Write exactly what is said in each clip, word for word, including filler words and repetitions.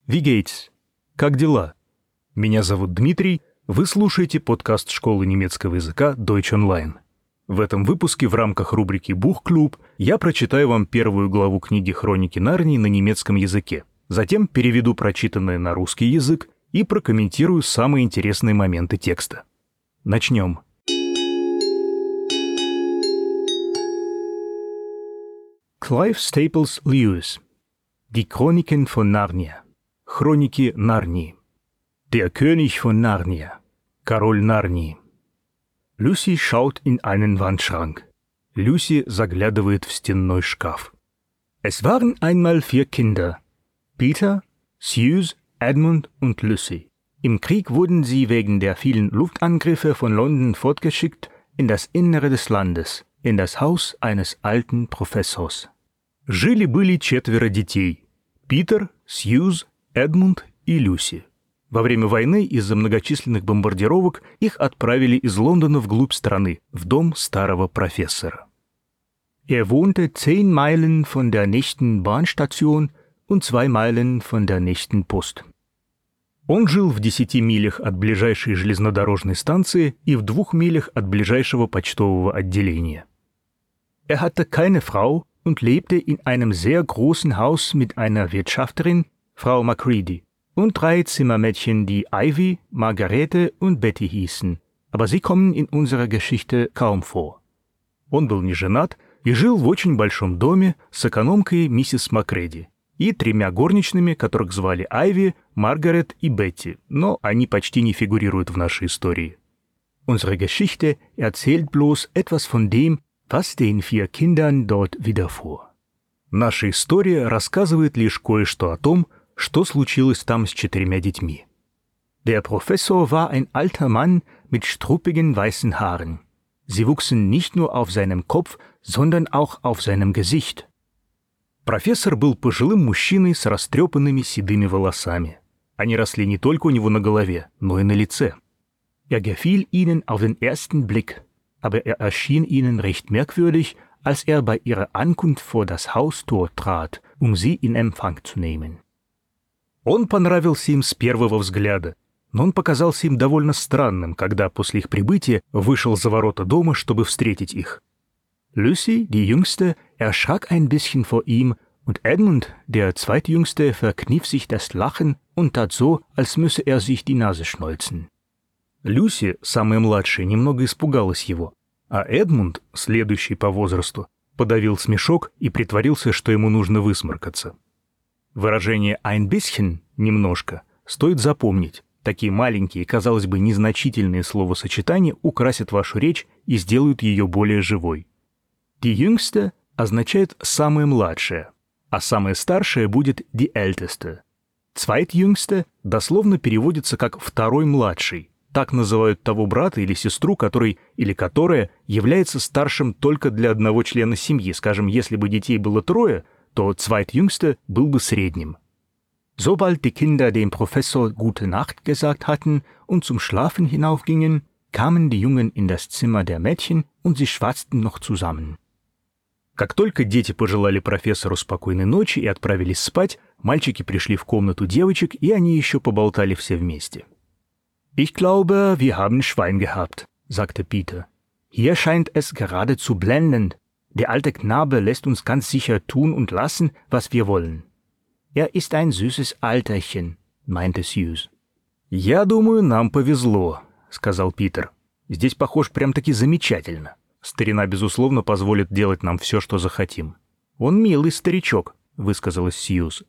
Wie geht's? Как дела? Меня зовут Дмитрий, вы слушаете подкаст школы немецкого языка Deutsch Online. В этом выпуске в рамках рубрики «Буchklub» я прочитаю вам первую главу книги «Хроники Нарнии» на немецком языке, затем переведу прочитанное на русский язык и прокомментирую самые интересные моменты текста. Начнем. Clive Staples Lewis. Die Chroniken von Narnia. Хроники Нарнии. Der König von Narnia. Король Нарнии. Lucy schaut in einen Wandschrank. Люси заглядывает в стенной шкаф. Es waren einmal vier Kinder. Peter, Suze, Edmund und Lucy. Im Krieg wurden sie wegen der vielen Luftangriffe von London fortgeschickt in das Innere des Landes, in das Haus eines alten Professors. Жили-были четверо детей. Питер, Сьюз, Эдмунд и Люси. Во время войны из-за многочисленных бомбардировок их отправили из Лондона вглубь страны, в дом старого профессора. Er wohnte zehn Meilen von der nächsten Bahnstation und zwei Meilen von der nächsten Post. Он жил в десяти милях от ближайшей железнодорожной станции и в двух милях от ближайшего почтового отделения. Er hatte keine Frau und lebte in einem sehr großen Haus mit einer Wirtschafterin, Frau Macready, und drei Zimmermädchen, die Ivy, Margarete und Betty hießen, aber sie kommen in unserer Geschichte kaum vor. Он был не женат и жил в очень большом доме с экономкой миссис Макреди и тремя горничными, которых звали Айви, Маргарет и Бетти, но они почти не фигурируют в нашей истории. Unsere Geschichte erzählt bloß etwas von dem, was den vier Kindern dort widerfuhr. Наша история рассказывает лишь кое-что о том, что случилось там с четырьмя детьми. Der Professor war ein alter Mann mit struppigen weißen Haaren. Sie wuchsen nicht nur auf seinem Kopf, sondern auch auf seinem Gesicht. Профессор был пожилым мужчиной с растрепанными седыми волосами. Они росли не только у него на голове, но и на лице. Er gefiel ihnen auf den ersten Blick, aber er erschien ihnen recht merkwürdig, als er bei ihrer Ankunft vor das Haustor trat, um sie in Empfang zu nehmen. Он понравился им с первого взгляда, но он показался им довольно странным, когда после их прибытия вышел за ворота дома, чтобы встретить их. Lucy, die Jüngste, erschrak ein bisschen vor ihm, und Edmund, der Zweitjüngste, verkniff sich das Lachen und tat so, als müsse er sich die Nase schneuzen. Люси, самая младшая, немного испугалась его, а Эдмунд, следующий по возрасту, подавил смешок и притворился, что ему нужно высморкаться. Выражение «ein bisschen» — «немножко» стоит запомнить. Такие маленькие, казалось бы, незначительные словосочетания украсят вашу речь и сделают ее более живой. Die Jüngste означает «самая младшая», а самая старшая будет die Älteste. Zweitjüngste дословно переводится как «второй младший». Так называют того брата или сестру, который или которая является старшим только для одного члена семьи. Скажем, если бы детей было трое, то Zweitjüngste был бы средним. Sobald die Kinder dem Professor Gute Nacht gesagt hatten und zum Schlafen hinaufgingen, kamen die Jungen in das Zimmer der Mädchen und sie schwatzten noch zusammen. Как только дети пожелали профессору спокойной ночи и отправились спать, мальчики пришли в комнату девочек, и они еще поболтали все вместе. Ich glaube, wir haben Schwein gehabt, sagte Peter. Hier scheint es geradezu blendend. Der alte Knabe lässt uns ganz sicher tun und lassen, was wir wollen. Er ist ein süßes Alterchen, meinte Suze. Я думаю, нам повезло, сказал Питер. Здесь, похож, прям-таки замечательно. Старина, безусловно, позволит делать нам все, что захотим. Он милый старичок, высказалась Сьюз.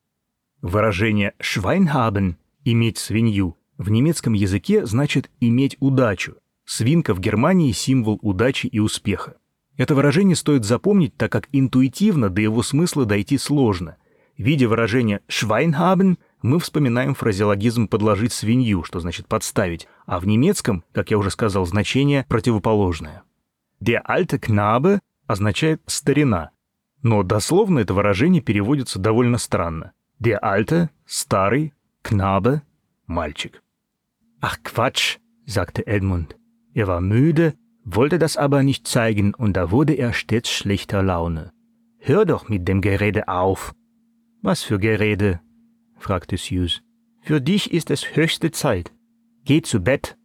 Выражение «Schwein haben» — «иметь свинью» в немецком языке значит «иметь удачу». Свинка в Германии — символ удачи и успеха. Это выражение стоит запомнить, так как интуитивно до его смысла дойти сложно. Видя выражение «Schwein haben», мы вспоминаем фразеологизм «подложить свинью», что значит «подставить», а в немецком, как я уже сказал, значение противоположное. Der alte Knabe означает «старина», но дословно это выражение переводится довольно странно. Der alte – старый, Knabe – мальчик. Ach Quatsch, sagte Edmund. Er war müde, wollte das aber nicht zeigen, und da wurde er stets schlechter Laune. Hör doch mit dem Gerede auf. Was für Gerede? fragte Suse. Für dich ist es höchste Zeit. Geh zu Bett.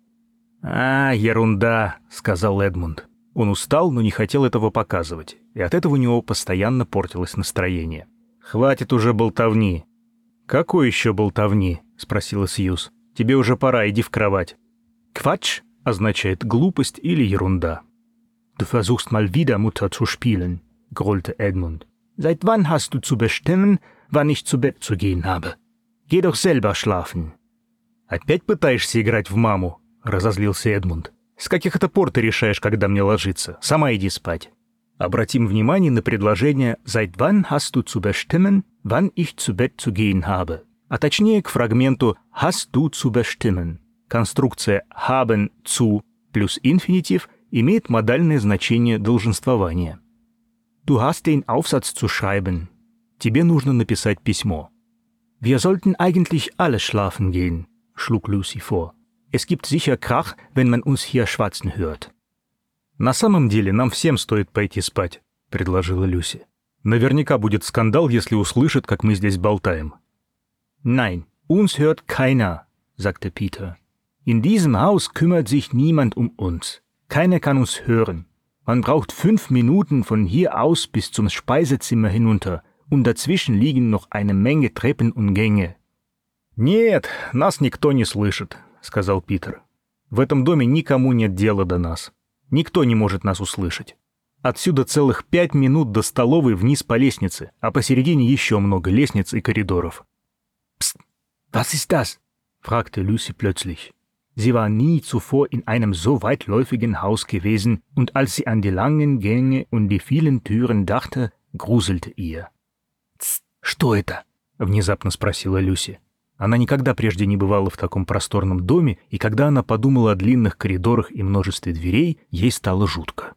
«А, ерунда», — сказал Эдмунд. Он устал, но не хотел этого показывать, и от этого у него постоянно портилось настроение. «Хватит уже болтовни». «Какой еще болтовни?» — спросила Сьюз. «Тебе уже пора, иди в кровать». «Quatsch» означает «глупость» или «ерунда». «Du versuchst mal wieder Mutter zu spielen», — grollte Edmund. «Seit wann hast du zu bestimmen, wann ich zu Bett zu gehen habe? Geh doch selber schlafen». «Опять пытаешься играть в маму?» — разозлился Эдмунд. «С каких это пор ты решаешь, когда мне ложиться? Сама иди спать». Обратим внимание на предложение «Seit wann hast du zu bestimmen, wann ich zu Bett zu gehen habe?» А точнее к фрагменту «hast du zu bestimmen». Конструкция «haben zu» плюс инфинитив имеет модальное значение долженствования. «Du hast den Aufsatz zu schreiben». Тебе нужно написать письмо. «Wir sollten eigentlich alle schlafen gehen», schlug Lucy vor. «Es gibt sicher Krach, wenn man uns hier schwatzen hört». «На самом деле нам всем стоит пойти спать», — предложила Люси. «Наверняка будет скандал, если услышат, как мы здесь болтаем». «Nein, uns hört keiner», sagte Peter. «In diesem Haus kümmert sich niemand um uns. Keiner kann uns hören. Man braucht fünf Minuten von hier aus bis zum Speisezimmer hinunter, und dazwischen liegen noch eine Menge Treppen und Gänge». «Нет, нас никто не слышит», — сказал Питер. «В этом доме никому нет дела до нас. Никто не может нас услышать. Отсюда целых пять минут до столовой вниз по лестнице, а посередине еще много лестниц и коридоров». «Psst, was ist das?» fragte Lucy plötzlich. Sie war nie zuvor in einem so weitläufigen Haus gewesen, und als sie an die langen Gänge und die vielen Türen dachte, gruselte ihr. «Тсс, что это?» — внезапно спросила Люси. Она никогда прежде не бывала в таком просторном доме, и когда она подумала о длинных коридорах и множестве дверей, ей стало жутко.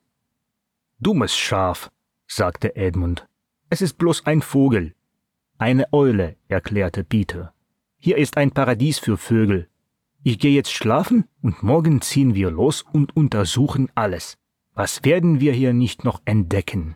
«Dummes Schaf», sagte Edmund. «Es ist bloß ein Vogel». «Eine Eule», erklärte Peter. «Hier ist ein Paradies für Vögel. Ich gehe jetzt schlafen und morgen ziehen wir los und untersuchen alles. Was werden wir hier nicht noch entdecken?»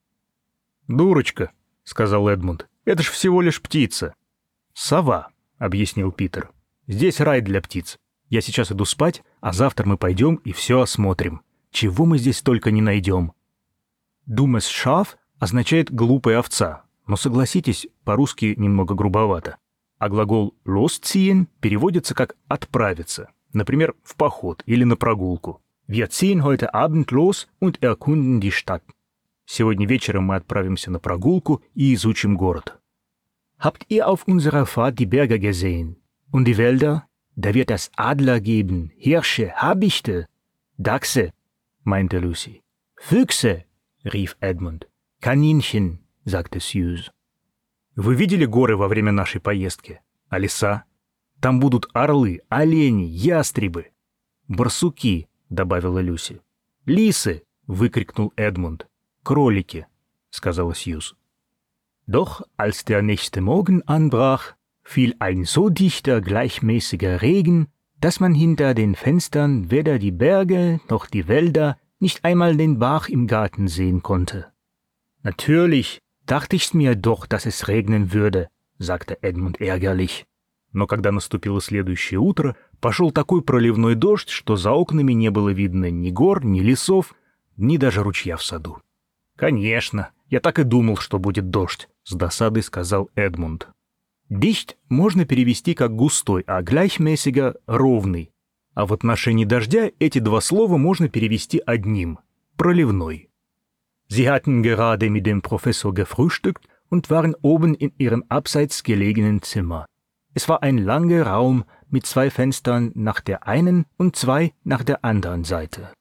«Дурочка», — сказал Эдмунд. «Это ж всего лишь птица». «Сова», — объяснил Питер. «Здесь рай для птиц. Я сейчас иду спать, а завтра мы пойдем и все осмотрим. Чего мы здесь только не найдем». «Dummes Schaf» означает «глупая овца», но, согласитесь, по-русски немного грубовато. А глагол «losziehen» переводится как «отправиться», например, в поход или на прогулку. «Wir ziehen heute Abend los und erkunden die Stadt». Сегодня вечером мы отправимся на прогулку и изучим город. «Habt ihr auf unserer Fahrt die Berge gesehen? Und die Wälder? Da wird es Adler geben, Hirsche, Habichte, Dachse», meinte Lucy. «Füchse», rief Edmund. «Kaninchen», sagte Suse. «Вы видели горы во время нашей поездки? А леса? Там будут орлы, олени, ястребы». «Барсуки», — добавила Люси. «Лисы», — выкрикнул Эдмунд. «Кролики», — сказала Сьюз. Doch als der nächste Morgen anbrach, fiel ein so dichter, gleichmäßiger Regen, dass man hinter den Fenstern weder die Berge noch die Wälder, nicht einmal den Bach im Garten sehen konnte. «Natürlich, dachte ich mir doch, dass es regnen würde», — sagte Эдмунд ärgerlich. Но когда наступило следующее утро, пошел такой проливной дождь, что за окнами не было видно ни гор, ни лесов, ни даже ручья в саду. «Конечно, я так и думал, что будет дождь», — с досадой сказал Эдмунд. «Dicht» можно перевести как «густой», а «gleichmäßiger» — «ровный». А в отношении дождя эти два слова можно перевести одним — «проливной». Sie hatten gerade mit dem Professor gefrühstückt und waren oben in ihrem abseits gelegenen Zimmer. Es war ein langer Raum mit zwei Fenstern nach der einen und zwei nach der anderen Seite.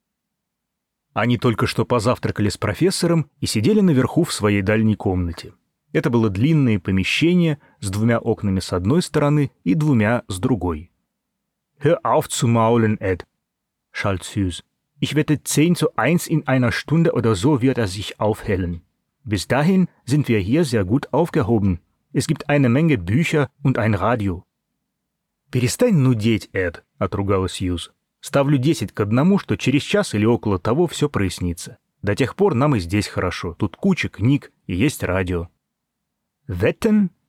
Они только что позавтракали с профессором и сидели наверху в своей дальней комнате. Это было длинное помещение с двумя окнами с одной стороны и двумя с другой. «Hör auf zu maulen, Ed», schalt Suse. «Ich wette zehn zu eins in einer Stunde oder so wird er sich aufhellen. Bis dahin sind wir hier sehr gut aufgehoben. Es gibt eine Menge Bücher und ein Radio». «Перестань нудеть, Эд», — отругала Сьюз. «Ставлю десять к одному, что через час или около того все прояснится. До тех пор нам и здесь хорошо. Тут куча книг и есть радио». «Wetten?»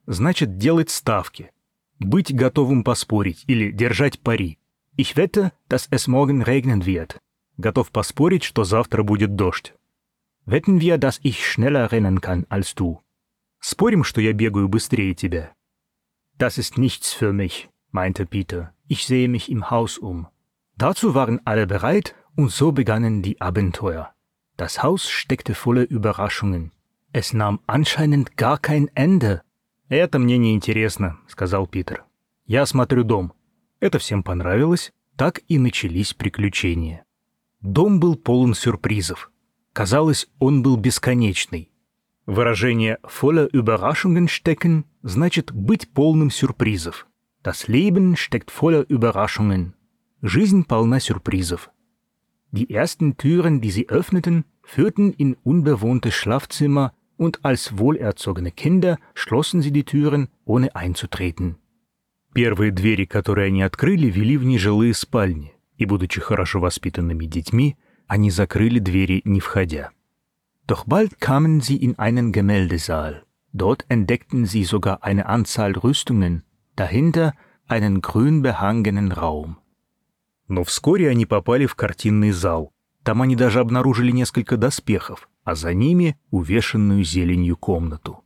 значит делать ставки, быть готовым поспорить или держать пари. Ich wette, dass es morgen regnen wird. Готов поспорить, что завтра будет дождь. Wetten wir, dass ich schneller rennen kann als du. Спорим, что я бегаю быстрее тебя. Das ist nichts für mich, meinte Peter. Ich sehe mich im Haus um. Dazu waren alle bereit und so begannen die Abenteuer. Das Haus steckte voller Überraschungen. Es nahm anscheinend gar kein Ende. «Это мне не интересно», — сказал Питер. «Я осмотрю дом». Это всем понравилось, так и начались приключения. Дом был полон сюрпризов. Казалось, он был бесконечный. Выражение «voller Überraschungen stecken» значит «быть полным сюрпризов». Das Leben steckt voller Überraschungen. Жизнь полна сюрпризов. Die ersten Türen, die sie öffneten, führten in unbewohnte Schlafzimmer und als wohlerzogene Kinder schlossen sie die Türen, ohne einzutreten. Первые двери, которые они открыли, вели в нежилые спальни, и, будучи хорошо воспитанными детьми, они закрыли двери, не входя. Doch bald kamen sie in einen Gemäldesaal. Dort entdeckten sie sogar eine Anzahl Rüstungen, dahinter einen grün behangenen Raum. Но вскоре они попали в картинный зал. Там они даже обнаружили несколько доспехов, а за ними увешанную зеленью комнату.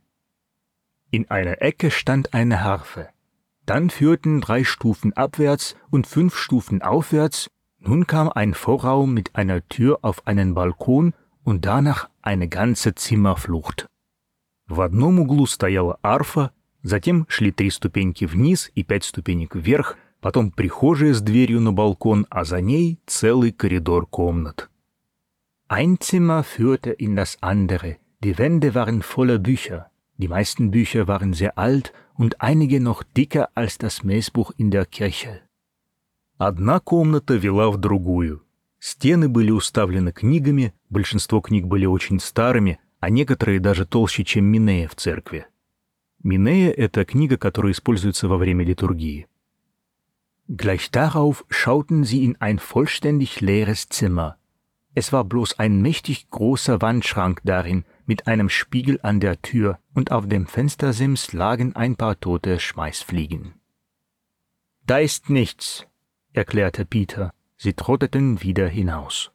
In einer Ecke stand eine Harfe. Dann führten drei Stufen abwärts und fünf Stufen aufwärts. Nun kam ein Vorraum mit einer Tür auf einen Balkon und danach eine ganze Zimmerflucht. В одном углу стояла арфа, затем шли три ступеньки вниз и пять ступенек вверх, потом прихожая с дверью на балкон, а за ней целый коридор комнат. Ein Zimmer führte in das andere. Die Wände waren voller Bücher. Die meisten Bücher waren sehr alt und einige noch dicker als das Messbuch in der Kirche. Одна комната вела в другую. Стены были уставлены книгами, большинство книг были очень старыми, а некоторые даже толще, чем Минея в церкви. Минея — это книга, которая используется во время литургии. Gleich darauf schauten sie in ein vollständig leeres Zimmer. Es war bloß ein mächtig großer Wandschrank darin, mit einem Spiegel an der Tür, und auf dem Fenstersims lagen ein paar tote Schmeißfliegen. Da ist nichts, erklärte Peter. Sie trotteten wieder hinaus.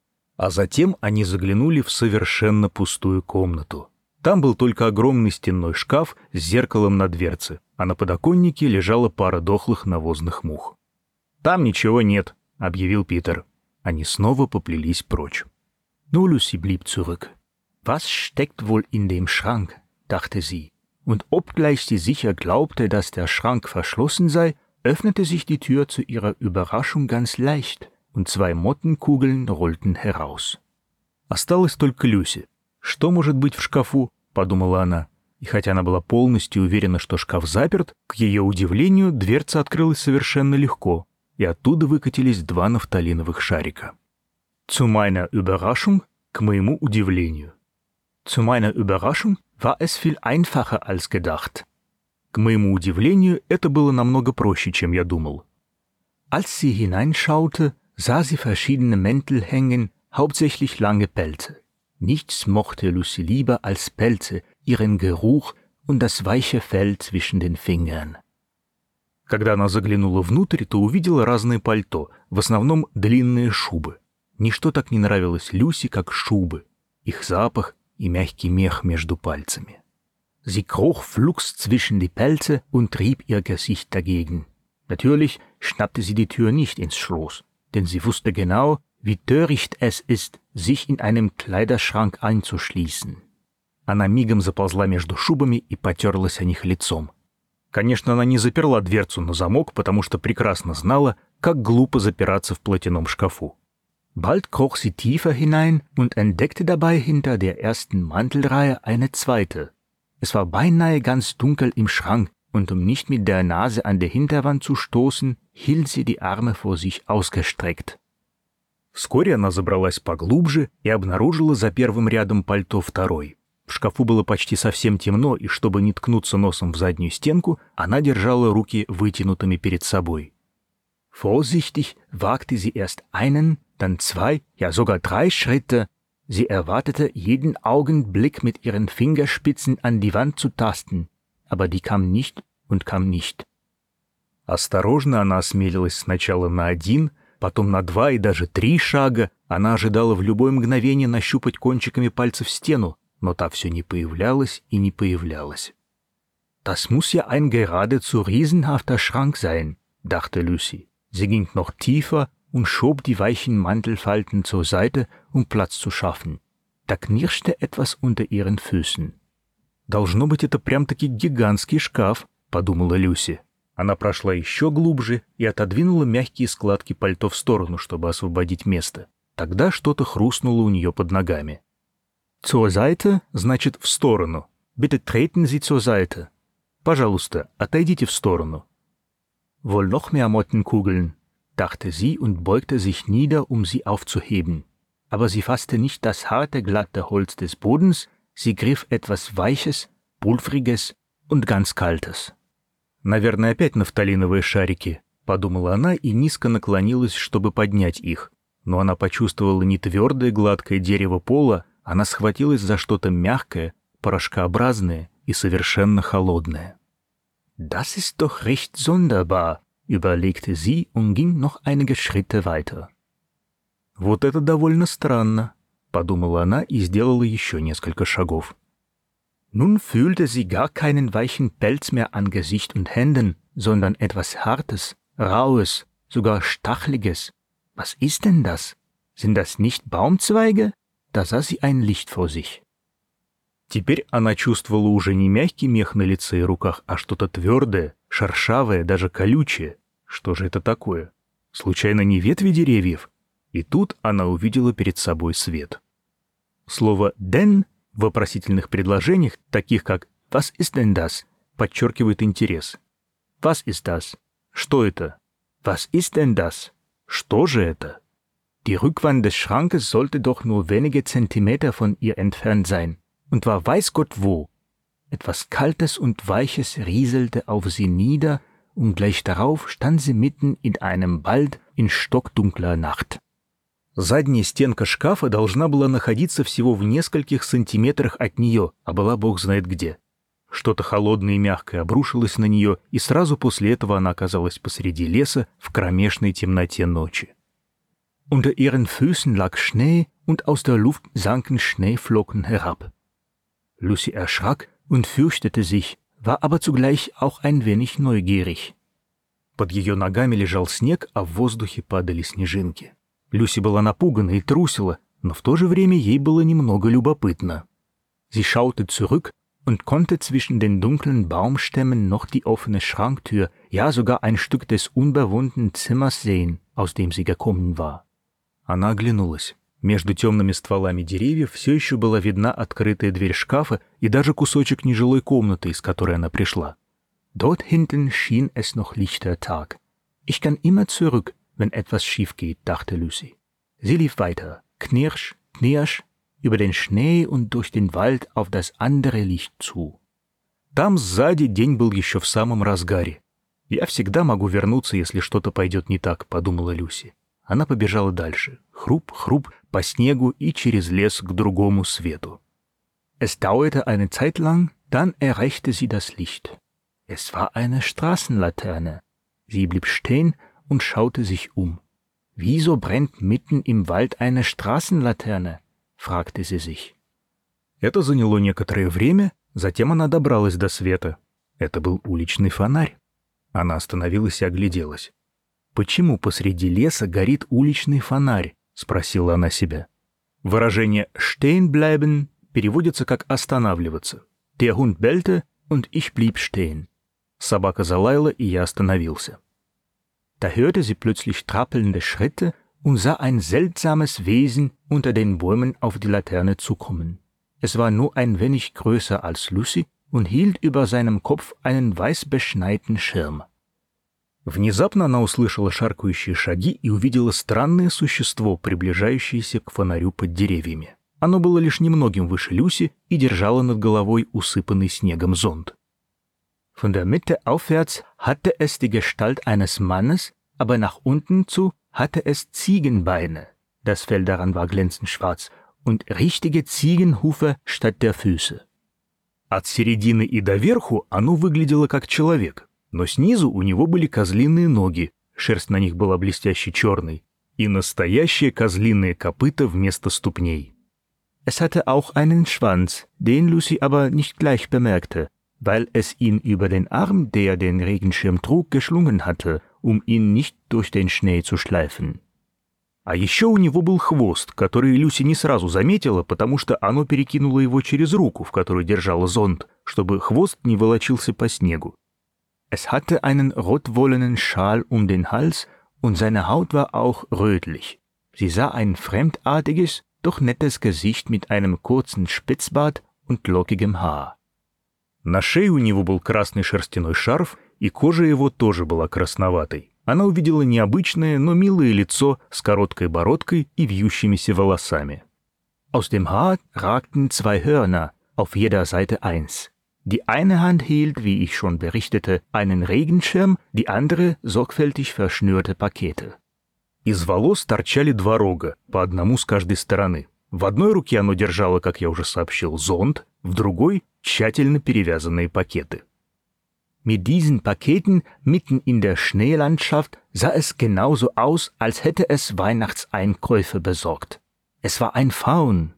А затем они заглянули в совершенно пустую комнату. Там был только огромный стенной шкаф с зеркалом на дверце, а на подоконнике лежала пара дохлых навозных мух. «Там ничего нет», — объявил Питер. Они снова поплелись прочь. Nur Lucy blieb zurück. Was steckt wohl in dem Schrank, dachte sie. Und obgleich sie sicher glaubte, dass der Schrank verschlossen sei, öffnete sich die Tür zu ihrer Überraschung ganz leicht, und zwei Mottenkugel rollten heraus. Осталась только Люси. «Что может быть в шкафу?» — подумала она. И хотя она была полностью уверена, что шкаф заперт, к ее удивлению дверца открылась совершенно легко, и оттуда выкатились два нафталиновых шарика. Zu meiner Überraschung, к моему удивлению. Zu meiner Überraschung war es viel einfacher als gedacht. К моему удивлению, это было намного проще, чем я думал. Als sie hineinschaute, sah sie verschiedene Mäntel hängen, hauptsächlich lange Pelze. Nichts mochte Lucy lieber als Pelze, ihren Geruch und das weiche Fell zwischen den Fingern. Когда она заглянула внутрь, то увидела разные пальто, в основном длинные шубы. Ничто так не нравилось Люси, как шубы, их запах и мягкий мех между пальцами. Sie kroch flugs zwischen die Pelze und rieb ihr Gesicht dagegen. Natürlich schnappte sie die Tür nicht ins Schloss, denn sie wusste genau, wie töricht es ist, sich in einem Kleiderschrank einzuschließen. Она мигом заползла между шубами и потерлась о них лицом. Конечно, она не заперла дверцу на замок, потому что прекрасно знала, как глупо запираться в платяном шкафу. Bald kroch sie tiefer hinein und entdeckte dabei hinter der ersten Mantelreihe eine zweite. Es war beinahe ganz dunkel im Schrank, und um nicht mit der Nase an der Hinterwand zu stoßen, hielt sie die Arme vor sich ausgestreckt. Вскоре она забралась поглубже и обнаружила за первым рядом пальто второй. В шкафу было почти совсем темно, и чтобы не ткнуться носом в заднюю стенку, она держала руки вытянутыми перед собой. Vorsichtig wagte sie erst einen, dann zwei, ja sogar drei Schritte. Sie erwartete jeden Augenblick mit ihren Fingerspitzen an die Wand zu tasten. aber die kam nicht und kam nicht. Осторожно она осмелилась сначала на один, потом на два и даже три шага. Она ожидала в любое мгновение нащупать кончиками пальцев стену, но та все не появлялась и не появлялась. Das muss ja ein geradezu riesenhafter Schrank sein, dachte Lucy. Sie ging noch tiefer und schob die weichen Mantelfalten zur Seite, um Platz zu schaffen. Da knirschte etwas unter ihren Füßen. «Должно быть, это прям-таки гигантский шкаф», — подумала Люси. Она прошла еще глубже и отодвинула мягкие складки пальто в сторону, чтобы освободить место. Тогда что-то хрустнуло у нее под ногами. «Zur Seite» значит «в сторону». «Bitte treten Sie zur Seite». «Пожалуйста, отойдите в сторону». «Wohl noch mehr Mottenkugeln», dachte sie und beugte sich nieder, um sie aufzuheben. Aber sie fasste nicht das harte, glatte Holz des Bodens, sie griff etwas Weiches, Pulvriges und ganz Kaltes. «Наверное, опять нафталиновые шарики», — подумала она и низко наклонилась, чтобы поднять их. Но она почувствовала не твердое гладкое дерево пола, она схватилась за что-то мягкое, порошкообразное и совершенно холодное. «Das ist doch recht sonderbar», überlegte sie und ging noch einige Schritte weiter. «Вот это довольно странно», — подумала она и сделала еще несколько шагов. Nun fühlte sie gar keinen weichen Pelz mehr an Gesicht und Händen, sondern etwas Hartes, Raues, sogar Stachliges. Was ist denn das? Sind das nicht Baumzweige? Da sah sie ein Licht vor sich. Теперь она чувствовала уже не мягкий мех на лице и руках, а что-то твердое, шершавое, даже колючее. Что же это такое? Случайно не ветви деревьев? И тут она увидела перед собой свет. Слово «denn» в вопросительных предложениях, таких как «Was ist denn das?» подчеркивает интерес. Was ist das? Что это? Was ist denn das? Что же это? Die Rückwand des Schrankes sollte doch nur wenige Zentimeter von ihr entfernt sein. Und war weiß Gott wo. Etwas Kaltes und Weiches rieselte auf sie nieder, und gleich darauf stand sie mitten in einem Wald in stockdunkler Nacht. Задняя стенка шкафа должна была находиться всего в нескольких сантиметрах от нее, а была бог знает где. Что-то холодное и мягкое обрушилось на нее, и сразу после этого она оказалась посреди леса в кромешной темноте ночи. Unter ihren Füßen lag Schnee, und aus der Luft sanken Schneeflocken herab. Lucy erschrak und fürchtete sich, war aber zugleich auch ein wenig neugierig. Под ее ногами лежал снег, а в воздухе падали снежинки. Люси была напугана и трусила, но в то же время ей было немного любопытно. Sie schaute zurück und konnte zwischen den dunklen Baumstämmen noch die offene Schranktür, ja sogar ein Stück des unbewohnten Zimmers sehen, aus dem sie gekommen war. Она оглянулась. Между темными стволами деревьев все еще была видна открытая дверь шкафа и даже кусочек нежилой комнаты, из которой она пришла. Dort hinten schien es noch lichter Tag. Ich kann immer zurück, wenn etwas schief geht, dachte Lucy. Sie lief weiter, knirsch, knirsch, über den Schnee und durch den Wald auf das andere Licht zu. Там сзади день был еще в самом разгаре. «Я всегда могу вернуться, если что-то пойдет не так», — подумала Люси. Она побежала дальше, хруп-хруп, по снегу и через лес к другому свету. Es dauerte eine Zeit lang, dann erreichte sie das Licht. Es war eine Straßenlaterne. Sie blieb stehen und schaute sich um. Wieso brennt mitten im Wald eine Straßenlaterne? Fragte sie sich. Это заняло некоторое время, затем она добралась до света. Это был уличный фонарь. Она остановилась и огляделась. «Почему посреди леса горит уличный фонарь?» — спросила она себя. Выражение «stehen bleiben» переводится как «останавливаться». Der Hund bellte, und ich blieb stehen. Собака залаяла, и я остановился. Da hörte sie plötzlich trappelnde Schritte und sah ein seltsames Wesen unter den Bäumen auf die Laterne zukommen. Es war nur ein wenig größer als Lucy und hielt über seinem Kopf einen weißbeschneiten Schirm. Внезапно она услышала шаркающие шаги и увидела странное существо, приближающееся к фонарю под деревьями. Оно было лишь немногим выше Люси и держало над головой усыпанный снегом зонт. Von der Mitte aufwärts hatte es die Gestalt eines Mannes, aber nach unten zu hatte es Ziegenbeine. Das Fell daran war glänzend schwarz und richtige Ziegenhufe statt der Füße. От середины и до верху оно выглядело как человек, но снизу у него были козлиные ноги, шерсть на них была блестяще черной, и настоящие козлиные копыта вместо ступней. Es hatte auch einen Schwanz, den Lucy aber nicht gleich bemerkte, weil es ihn über den Arm, der den Regenschirm trug, geschlungen hatte, um ihn nicht durch den Schnee zu schleifen. А еще у него был хвост, который Люси не сразу заметила, потому что оно перекинуло его через руку, в которой держало зонт, чтобы хвост не волочился по снегу. Es hatte einen rotwollenen Schal um den Hals und seine Haut war auch rötlich. Sie sah ein fremdartiges, doch nettes Gesicht mit einem kurzen Spitzbart und lockigem Haar. На шее у него был красный шерстяной шарф, и кожа его тоже была красноватой. Она увидела необычное, но милое лицо с короткой бородкой и вьющимися волосами. Aus dem Haar ragten zwei Hörner, auf jeder Seite eins. Die eine Hand hielt, wie ich schon berichtete, einen Regenschirm, die andere sorgfältig verschnürte Pakete. Из волос торчали два рога, по одному с каждой стороны. В одной руке оно держало, как я уже сообщил, зонт, в другой — тщательно перевязанные пакеты. Mit diesen Paketen mitten in der Schneelandschaft sah es genauso aus, als hätte es Weihnachtseinkäufe besorgt. Es war ein Faun.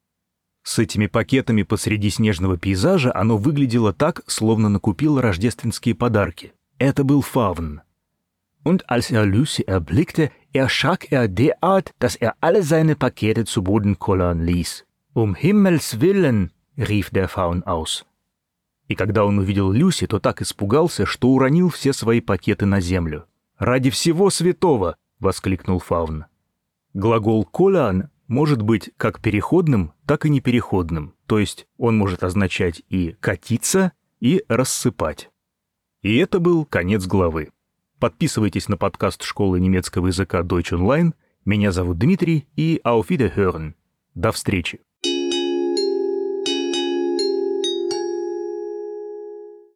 С этими пакетами посреди снежного пейзажа оно выглядело так, словно накупило рождественские подарки. Это был фавн. Und als er Lucy erblickte, erschrak er derart, dass er alle seine Pakete zu Boden kullern ließ. Um Himmels Willen, rief der Faun aus. И когда он увидел Люси, то так испугался, что уронил все свои пакеты на землю. «Ради всего святого!» — воскликнул фавн. Глагол «коллан» может быть как переходным, так и непереходным, то есть он может означать и «катиться», и «рассыпать». И это был конец главы. Подписывайтесь на подкаст школы немецкого языка Deutsch Online. Меня зовут Дмитрий, и auf Wiederhören. До встречи.